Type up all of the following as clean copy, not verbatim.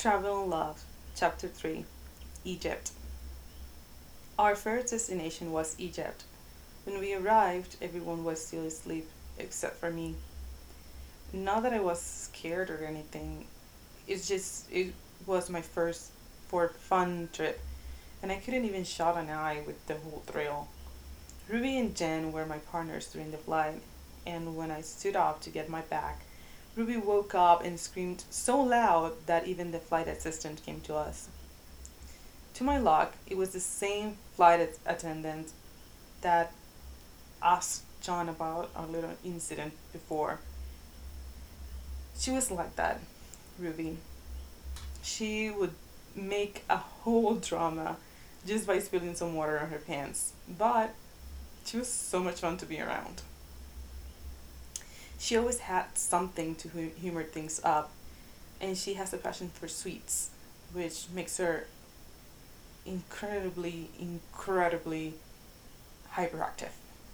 Travel and Love, Chapter 3, Egypt. Our first destination was Egypt. When we arrived, everyone was still asleep, except for me. Not that I was scared or anything, it was my first for fun trip, and I couldn't even shut an eye with the whole thrill. Ruby and Jen were my partners during the flight, and when I stood up to get my bag, Ruby woke up and screamed so loud that even the flight assistant came to us. To my luck, it was the same attendant that asked John about our little incident before. She was like that, Ruby. She would make a whole drama just by spilling some water on her pants, but she was so much fun to be around. She always had something to humor things up, and she has a passion for sweets, which makes her incredibly hyperactive.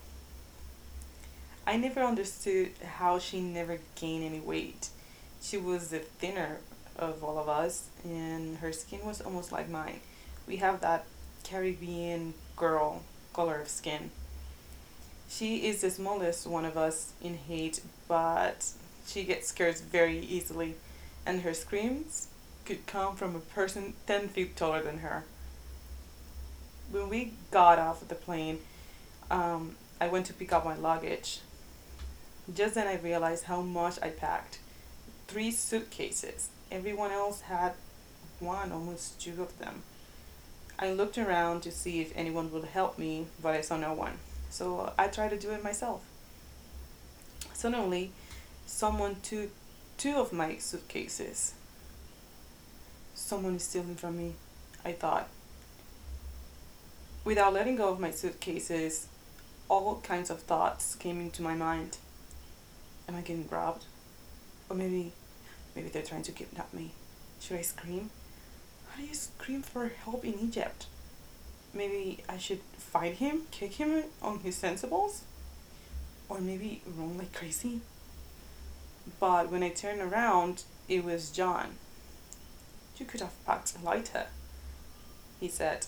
I never understood how she never gained any weight. She was the thinner of all of us, and her skin was almost like mine. We have that Caribbean girl color of skin. She is the smallest one of us in height, but she gets scared very easily, and her screams could come from a person 10 feet taller than her. When we got off the plane, I went to pick up my luggage. Just then I realized how much I packed. Three suitcases. Everyone else had one, almost two of them. I looked around to see if anyone would help me, but I saw no one. So I tried to do it myself. Suddenly, someone took two of my suitcases. Someone is stealing from me, I thought. Without letting go of my suitcases, all kinds of thoughts came into my mind. Am I getting robbed? Or maybe they're trying to kidnap me. Should I scream? How do you scream for help in Egypt? Maybe I should fight him, kick him on his sensibles? Or maybe run like crazy? But when I turned around, it was John. You could have packed a lighter, he said.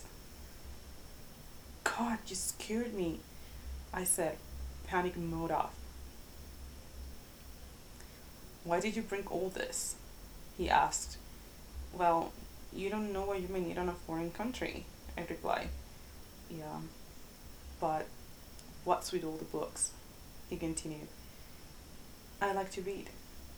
God, you scared me, I said, panic mode off. Why did you bring all this? He asked. Well, you don't know what you may need in a foreign country, I replied. Yeah, but what's with all the books? He continued. I like to read.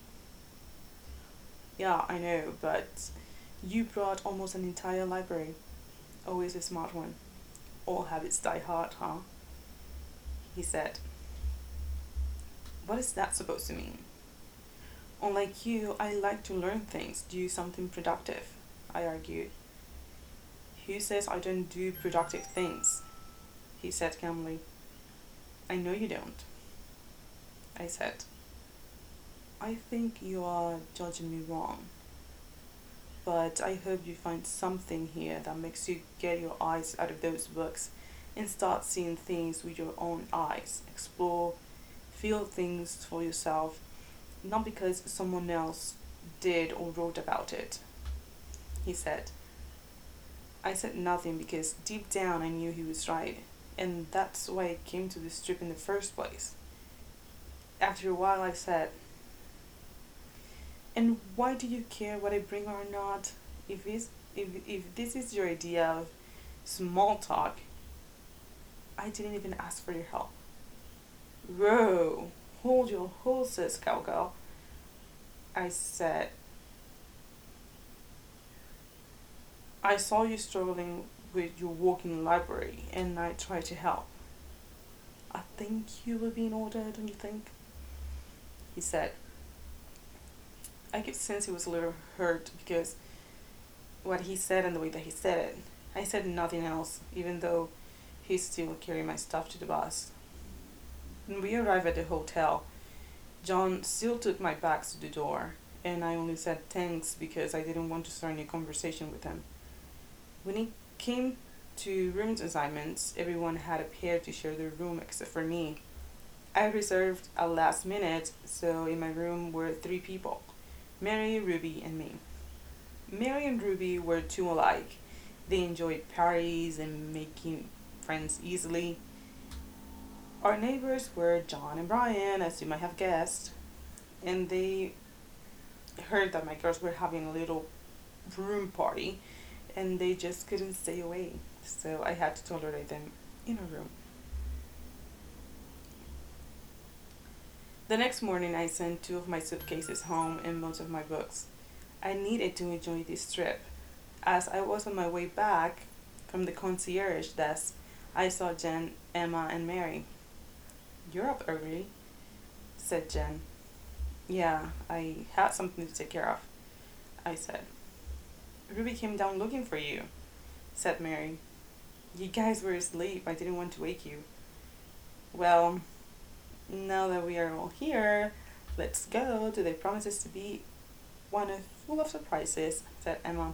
Yeah, I know, but you brought almost an entire library. Always a smart one. All habits die hard, huh? He said. What is that supposed to mean? Unlike you, I like to learn things, do something productive, I argued. Who says I don't do productive things? He said calmly. I know you don't, I said. I think you are judging me wrong, but I hope you find something here that makes you get your eyes out of those books and start seeing things with your own eyes. Explore, feel things for yourself, not because someone else did or wrote about it, he said. I said nothing because deep down I knew he was right, and that's why I came to this trip in the first place. After a while, I said, and why do you care what I bring or not? If this is your idea of small talk, I didn't even ask for your help. Whoa, hold your horses, cowgirl, I said. I saw you struggling with your walking library and I tried to help. I think you will be in order, don't you think? He said. I could sense he was a little hurt because what he said and the way that he said it. I said nothing else, even though he still carried my stuff to the bus. When we arrived at the hotel, John still took my bags to the door, and I only said thanks because I didn't want to start any conversation with him. When it came to room assignments, everyone had a pair to share their room except for me. I reserved a last minute, so in my room were three people, Mary, Ruby, and me. Mary and Ruby were two alike. They enjoyed parties and making friends easily. Our neighbors were John and Brian, as you might have guessed, and they heard that my girls were having a little room party and they just couldn't stay away. So I had to tolerate them in a room. The next morning, I sent two of my suitcases home and most of my books. I needed to enjoy this trip. As I was on my way back from the concierge desk, I saw Jen, Emma, and Mary. "You're up early," said Jen. "Yeah, I had something to take care of," I said. "Ruby came down looking for you," said Mary. "You guys were asleep. I didn't want to wake you." "Well, now that we are all here, let's go. Today promises to be one full of surprises," said Emma.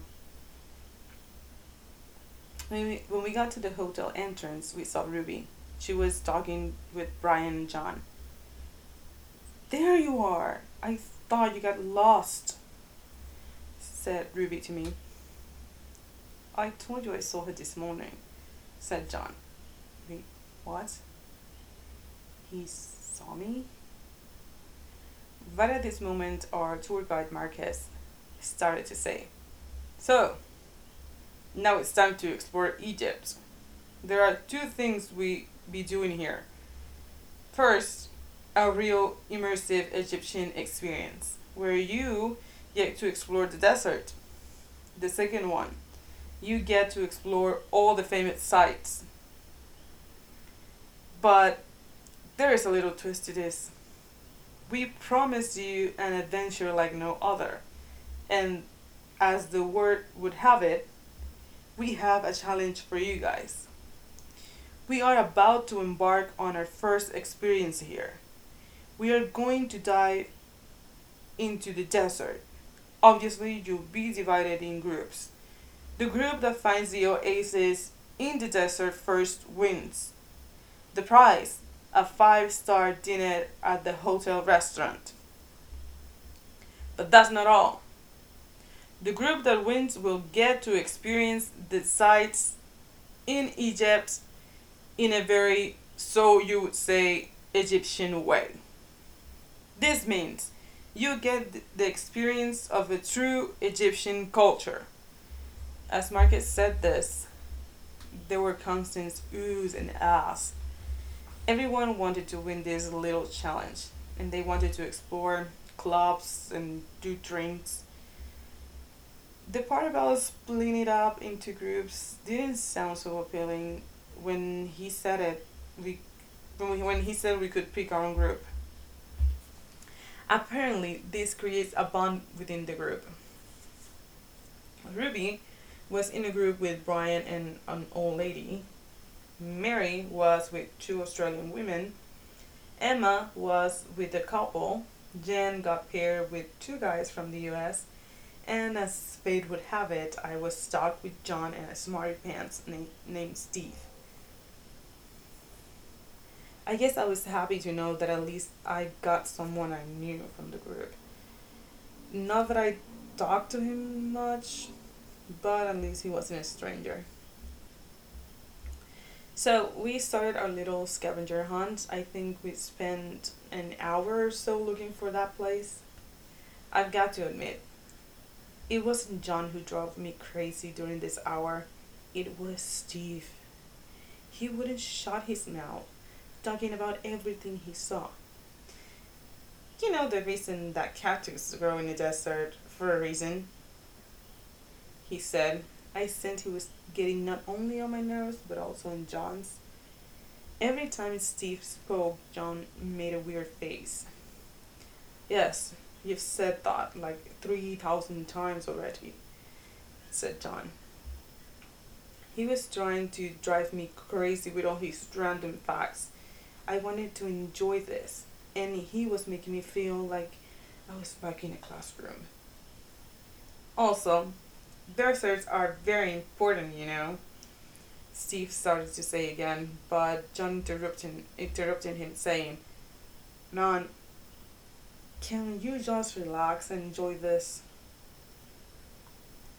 When we got to the hotel entrance, we saw Ruby. She was talking with Brian and John. "There you are! I thought you got lost," said Ruby to me. "I told you I saw her this morning," said John. "Wait, what? He saw me?" Right at this moment, our tour guide Marquez started to say, "So, now it's time to explore Egypt. There are two things we be doing here. First, a real immersive Egyptian experience, where you get to explore the desert. The second one, you get to explore all the famous sites. But there is a little twist to this. We promised you an adventure like no other. And as the word would have it, we have a challenge for you guys. We are about to embark on our first experience here. We are going to dive into the desert. Obviously, you'll be divided in groups. The group that finds the oasis in the desert first wins. The prize, a five-star dinner at the hotel restaurant. But that's not all. The group that wins will get to experience the sights in Egypt in a very, so you would say, Egyptian way. This means you get the experience of a true Egyptian culture." As Marcus said this, there were constant oohs and ahs. Everyone wanted to win this little challenge, and they wanted to explore clubs and do drinks. The part about splitting it up into groups didn't sound so appealing when he said it. When he said we could pick our own group. Apparently, this creates a bond within the group. Ruby was in a group with Brian and an old lady. Mary was with two Australian women. Emma was with a couple. Jen got paired with two guys from the US. And as fate would have it, I was stuck with John and a smarty pants named Steve. I guess I was happy to know that at least I got someone I knew from the group. Not that I talked to him much, but at least he wasn't a stranger. So we started our little scavenger hunt. I think we spent an hour or so looking for that place. I've got to admit, it wasn't John who drove me crazy during this hour. It was Steve. He wouldn't shut his mouth, talking about everything he saw. "You know the reason that cactus grow in the desert for a reason," he said. I sensed he was getting not only on my nerves but also on John's. Every time Steve spoke, John made a weird face. "Yes, you've said that like 3,000 times already," said John. He was trying to drive me crazy with all his random facts. I wanted to enjoy this, and he was making me feel like I was back in a classroom. "Also, deserts are very important, you know," Steve started to say again, but John interrupted him, saying, "Man, can you just relax and enjoy this?"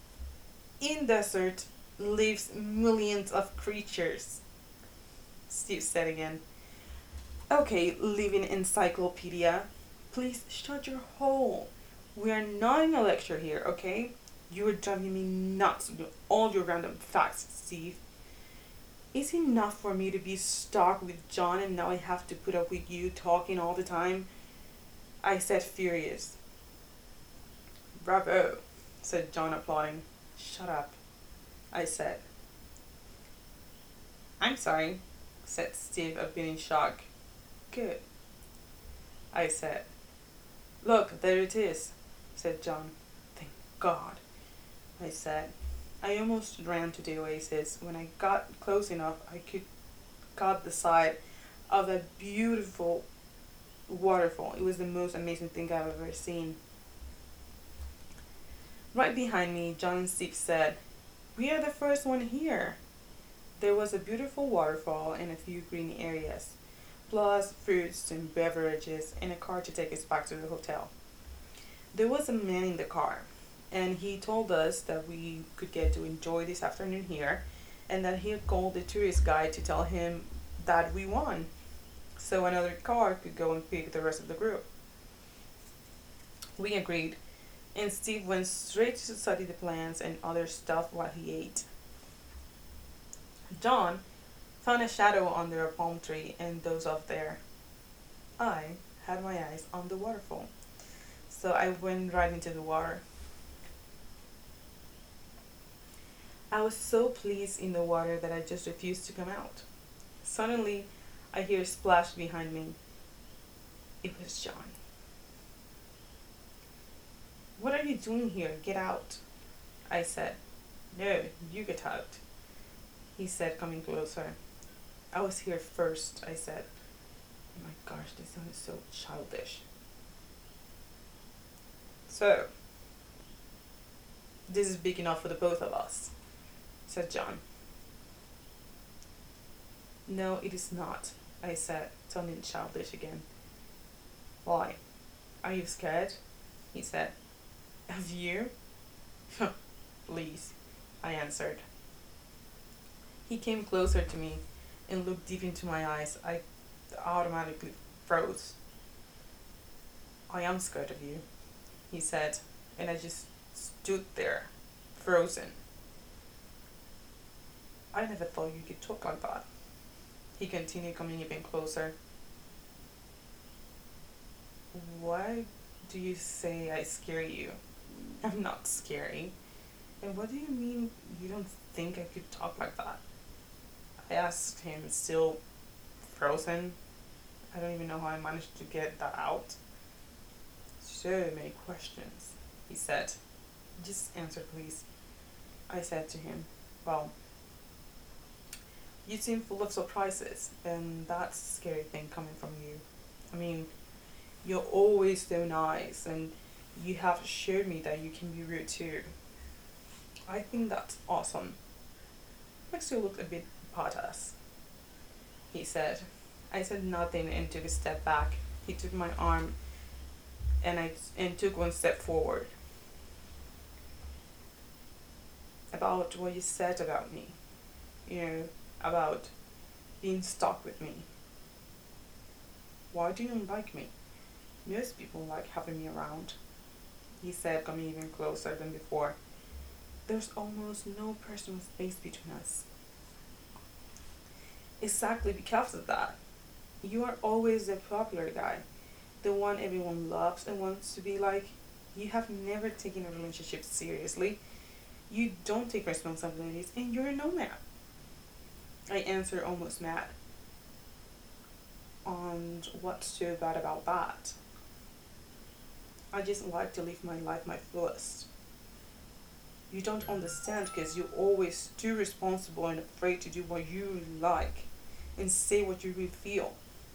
in desert lives millions of creatures, Steve said again. Okay, living encyclopedia, please shut your hole. We are not in a lecture here, okay? You are driving me nuts with all your random facts, Steve. Is it enough for me to be stuck with John and now I have to put up with you talking all the time? I said, furious. Bravo, said John, applauding. Shut up, I said. I'm sorry, said Steve, a bit in shock. Good, I said. Look, there it is, said John. Thank God, I said. I almost ran to the oasis. When I got close enough, I could caught the side of a beautiful waterfall. It was the most amazing thing I've ever seen. Right behind me, John and Steve said, "We are the first one here." There was a beautiful waterfall and a few green areas, plus fruits and beverages and a car to take us back to the hotel. There was a man in the car, and he told us that we could get to enjoy this afternoon here and that he had called the tourist guide to tell him that we won, so another car could go and pick the rest of the group. We agreed, and Steve went straight to study the plants and other stuff while he ate. John found a shadow under a palm tree and dozed off there. I had my eyes on the waterfall, so I went right into the water. I was so pleased in the water that I just refused to come out. Suddenly, I hear a splash behind me. It was John. "What are you doing here? Get out," I said. "No, you get out," he said, coming closer. "I was here first," I said. Oh my gosh, this sounded so childish. "So, this is big enough for the both of us," said John. "No, it is not," I said, sounding childish again. "Why? Are you scared?" he said. "Of you?" "Please," I answered. He came closer to me and looked deep into my eyes. I automatically froze. "I am scared of you," he said, and I just stood there, frozen. "I never thought you could talk like that," he continued, coming even closer. "Why do you say I scare you? I'm not scary. And what do you mean you don't think I could talk like that?" I asked him, still frozen. I don't even know how I managed to get that out. "So many questions," he said. "Just answer, please," I said to him. "Well, you seem full of surprises, and that's a scary thing coming from you. I mean, you're always so nice, and you have showed me that you can be rude too. I think that's awesome. Makes you look a bit badass," he said. I said nothing and took a step back. He took my arm and took one step forward. "About what you said about me, about being stuck with me. Why do you like me? Most people like having me around," he said, coming even closer than before. "There's almost no personal space between us." "Exactly because of that. You are always the popular guy, the one everyone loves and wants to be like. You have never taken a relationship seriously. You don't take responsibilities, and you're a nomad," I answered, almost mad. "And what's so bad about that? I just like to live my life my fullest. You don't understand because you're always too responsible and afraid to do what you really like and say what you really feel.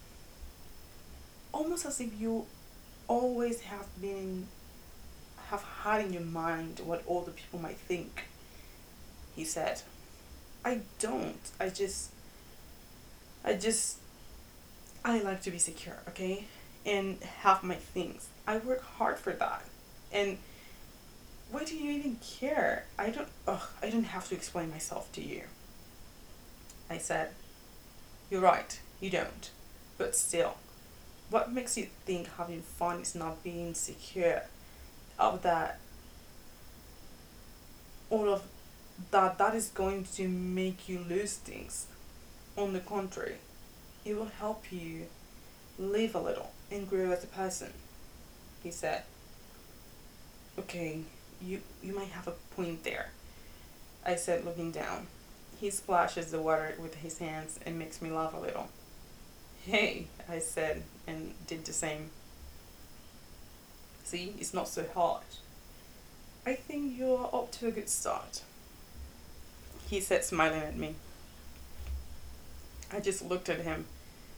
Almost as if you always have had in your mind what other people might think," he said. "I don't. I just, I like to be secure, okay? And have my things. I work hard for that. And Why do you even care? I don't have to explain myself to you. I said, you're right, you don't. But still, what makes you think having fun is not being secure? Of that, all of that is going to make you lose things. On the contrary, it will help you live a little and grow as a person, he said. Okay, you might have a point there, I said, looking down. He splashes the water with his hands and makes me laugh a little. Hey, I said, and did the same. See, it's not so hard. I think you're up to a good start, he said, smiling at me. I just looked at him.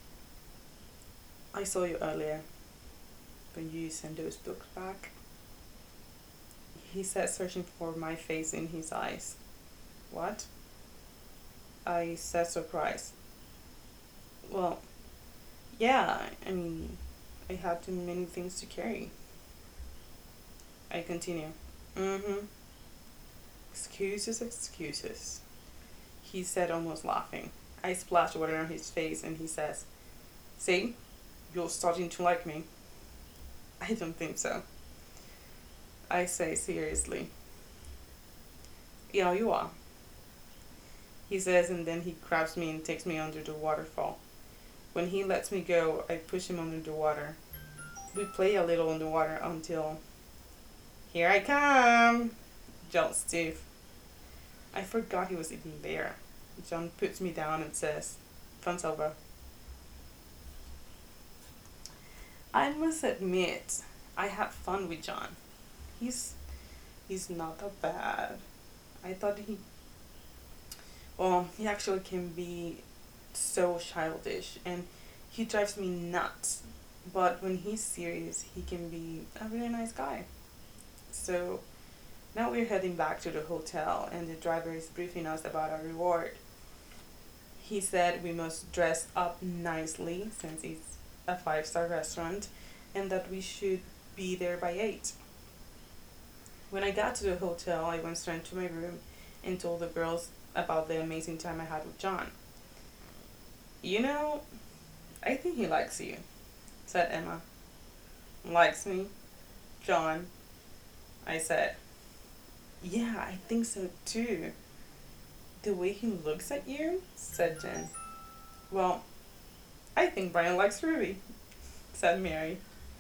I saw you earlier when you sent those books back, he said, searching for my face in his eyes. What? I said, surprised. Well, yeah, I mean, I had too many things to carry. I continue. Mm-hmm. Excuses, excuses, he said, almost laughing. I splashed water on his face and he says, see, you're starting to like me. I don't think so, I say seriously. Yeah, you are, he says, and then he grabs me and takes me under the waterfall. When he lets me go, I push him under the water. We play a little in the water until, here I come, yells Steve. I forgot he was even there. John puts me down and says, fun's over. I must admit, I had fun with John. He's he's not that bad. I thought he actually can be so childish and he drives me nuts. But when he's serious, he can be a really nice guy. So now we're heading back to the hotel and the driver is briefing us about our reward. He said we must dress up nicely since it's a five-star restaurant and that we should be there by 8. When I got to the hotel, I went straight to my room and told the girls about the amazing time I had with John. You know, I think he likes you, said Emma. Likes me? John, I said. Yeah, I think so too. The way he looks at you, said Jen. Well, I think Brian likes Ruby, said Mary.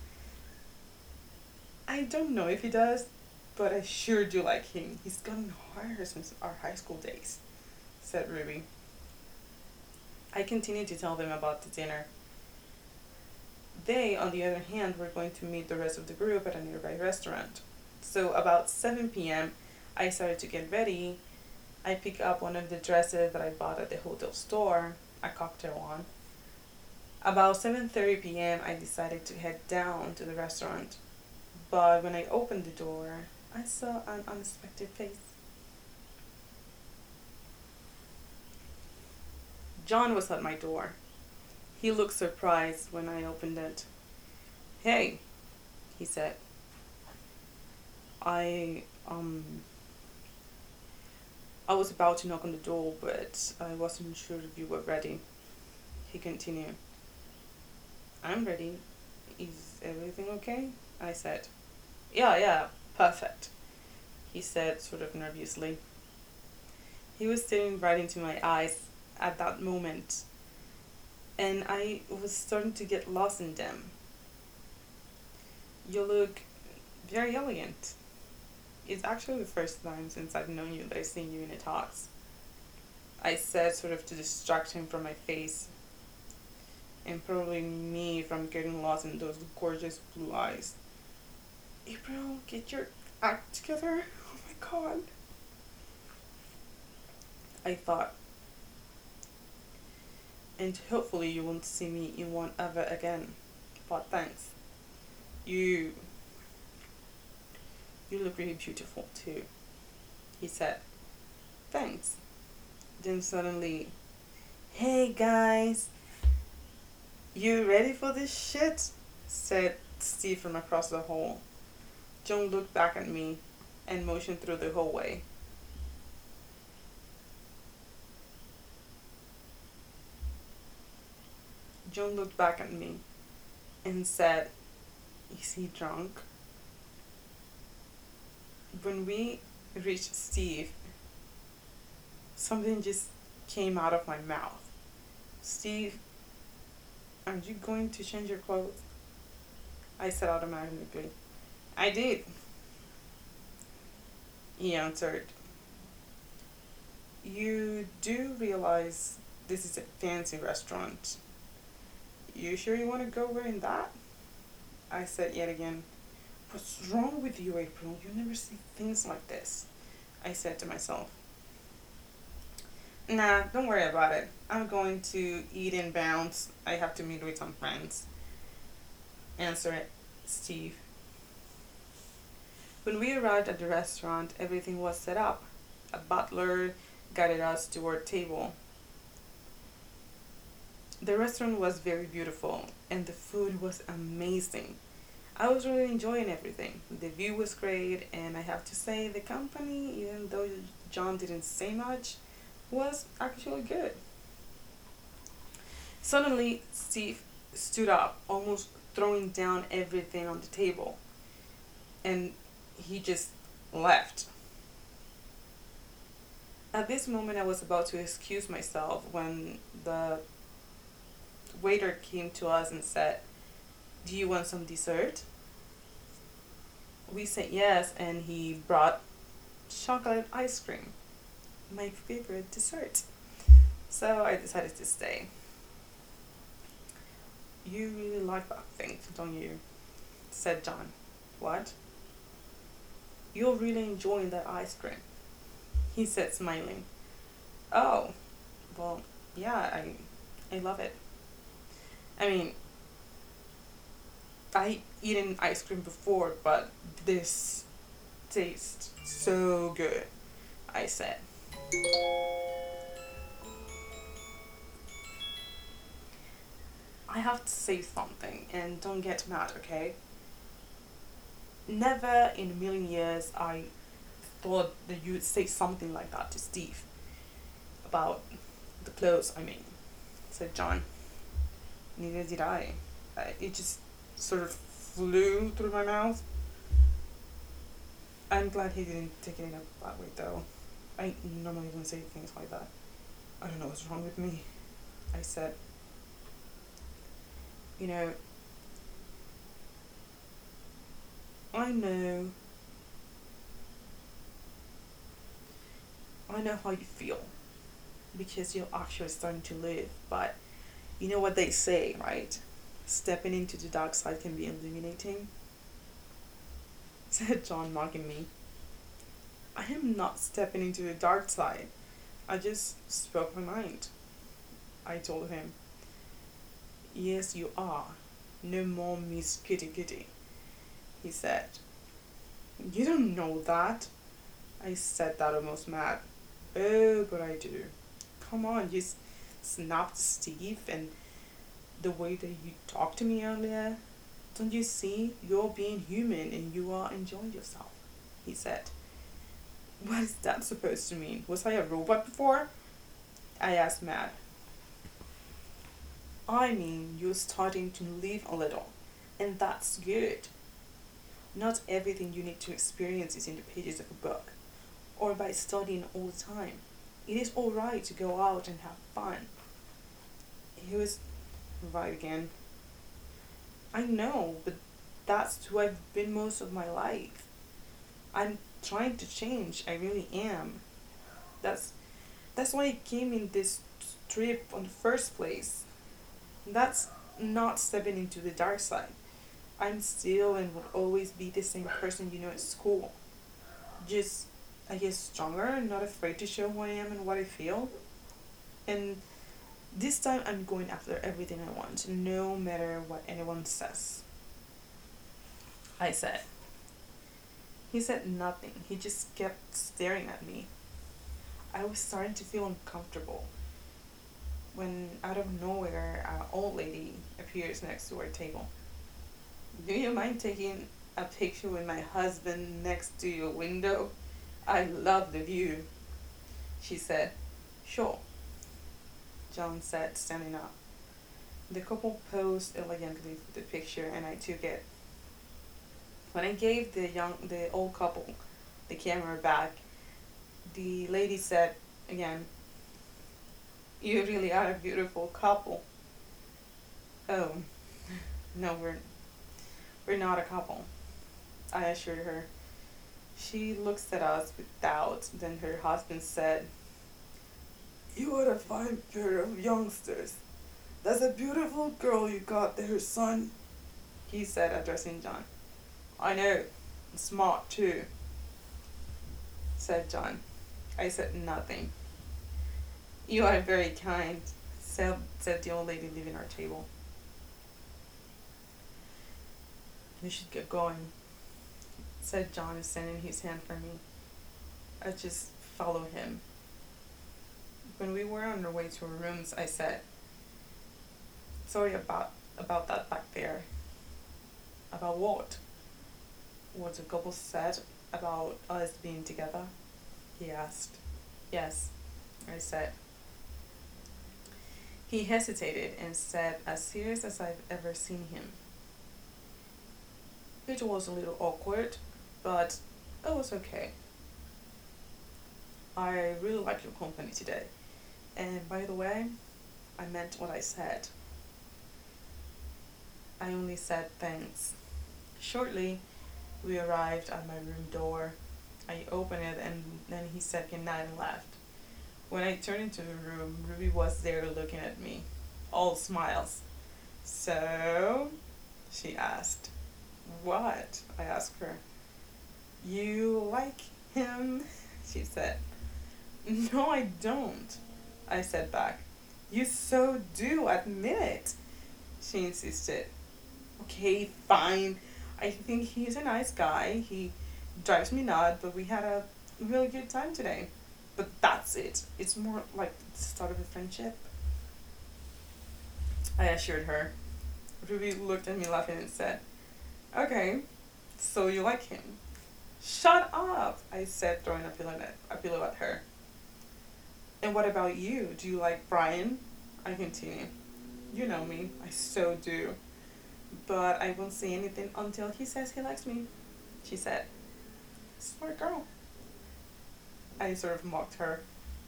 I don't know if he does, but I sure do like him. He's gotten harder since our high school days, said Ruby. I continued to tell them about the dinner. They, on the other hand, were going to meet the rest of the group at a nearby restaurant. So about 7 p.m., I started to get ready. I picked up one of the dresses that I bought at the hotel store, a cocktail one. About 7:30 p.m., I decided to head down to the restaurant. But when I opened the door, I saw an unexpected face. John was at my door. He looked surprised when I opened it. Hey, he said. I, um, I was about to knock on the door, but I wasn't sure if you were ready. He continued. I'm ready. Is everything okay? I said. Yeah, perfect, he said, sort of nervously. He was staring right into my eyes at that moment, and I was starting to get lost in them. You look very elegant. It's actually the first time since I've known you that I've seen you in a tux, I said, sort of to distract him from my face, and probably me from getting lost in those gorgeous blue eyes. April, get your act together. Oh my god. I thought. And hopefully you won't see me in one ever again. But thanks. You look really beautiful too, he said. Thanks. Then suddenly, hey guys, you ready for this shit? Said Steve from across the hall. John looked back at me and motioned through the hallway. John looked back at me and said, "Is he drunk?" When we reached Steve, something just came out of my mouth. "Steve, are you going to change your clothes?" I said automatically. "I did," he answered. "You do realize this is a fancy restaurant. You sure you want to go wearing that?" I said yet again. "What's wrong with you, April? You never see things like this," I said to myself. "Nah, don't worry about it. I'm going to eat in bounds. I have to meet with some friends," answered Steve. When we arrived at the restaurant, everything was set up. A butler guided us to our table. The restaurant was very beautiful and the food was amazing. I was really enjoying everything. The view was great, and I have to say, the company, even though John didn't say much, was actually good. Suddenly, Steve stood up, almost throwing down everything on the table, and he just left. At this moment, I was about to excuse myself when the waiter came to us and said, "Do you want some dessert?" We said yes, and he brought chocolate ice cream, my favorite dessert. So I decided to stay. "You really like that thing, don't you?" said John. "What?" "You're really enjoying that ice cream," he said, smiling. "Oh, well, yeah, I love it. I mean, I eaten ice cream before, but this tastes so good," I said. "I have to say something, and don't get mad, okay? Never in a million years I thought that you would say something like that to Steve. About the clothes, I mean," said John. "Neither did I. It just sort of flew through my mouth." I'm glad he didn't take it in a bad way, though. I normally don't say things like that. "I don't know what's wrong with me," I said. "You know, I know, I know how you feel because you're actually starting to live, but you know what they say, right? Stepping into the dark side can be illuminating," said John, mocking me. "I am not stepping into the dark side. I just spoke my mind," I told him. "Yes, you are. No more Miss Kitty Kitty," he said. "You don't know that." I said that almost mad. "Oh, but I do. Come on, you snapped Steve, and the way that you talked to me earlier. Don't you see? You're being human and you are enjoying yourself," he said. "What is that supposed to mean? Was I a robot before?" I asked mad. "I mean, you're starting to live a little, and that's good. Not everything you need to experience is in the pages of a book, or by studying all the time. It is alright to go out and have fun." He was right again. "I know, but that's who I've been most of my life. I'm trying to change, I really am. That's that's why I came in this trip on the first place. That's not stepping into the dark side. I'm still and will always be the same person you know at school. Just, I guess, stronger, not afraid to show who I am and what I feel. And this time I'm going after everything I want, no matter what anyone says," I said. He said nothing. He just kept staring at me. I was starting to feel uncomfortable when, out of nowhere, an old lady appears next to our table. "Do you mind taking A picture with my husband next to your window? I love the view. She said. Sure, John said, standing up. The couple posed elegantly for the picture and I took it. When I gave the old couple the camera back, the lady said again, "You really are a beautiful couple." Oh, no, we're not a couple, I assured her. She looks at us with doubt. Then her husband said, "You are a fine pair of youngsters. That's a beautiful girl you got there, son," he said, addressing John. "I know, smart too," said John. I said nothing. "You are very kind," said the old lady leaving our table. "We should get going," said John, extending his hand for me. I just followed him. When we were on our way to our rooms, I said, "Sorry about that back there." "About what?" "What the couple said about us being together?" he asked. "Yes," I said. He hesitated and said, as serious as I've ever seen him, "It was a little awkward, but it was okay. I really like your company today. And by the way, I meant what I said." I only said thanks. Shortly, we arrived at my room door. I opened it and then he said goodnight and left. When I turned into the room, Ruby was there looking at me, all smiles. "So?" she asked. "What?" I asked her. "You like him?" she said. "No, I don't," I said back. "You so do, admit it," she insisted. "Okay, fine. I think he's a nice guy. He drives me nuts, but we had a really good time today. But that's it. It's more like the start of a friendship," I assured her. Ruby looked at me laughing and said, "Okay, so you like him." "Shut up," I said, throwing a pillow at her. "And what about you? Do you like Brian?" I continued. "You know me. I so do. But I won't say anything until he says he likes me," she said. "Smart girl." I sort of mocked her.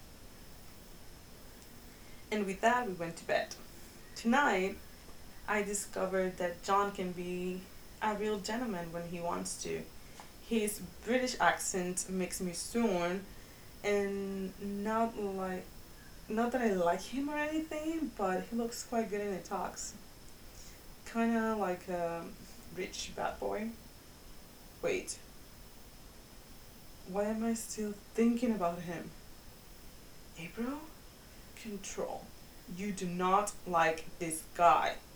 And with that, we went to bed. Tonight, I discovered that John can be a real gentleman when he wants to. His British accent makes me sworn, and not that I like him or anything, but he looks quite good in the talks. Kinda like a rich bad boy. Wait, why am I still thinking about him? April? Control. You do not like this guy.